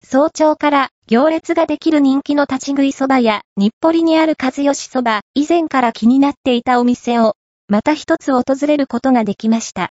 早朝から行列ができる人気の立ち食いそばや日暮里にある和吉そば、以前から気になっていたお店をまた一つ訪れることができました。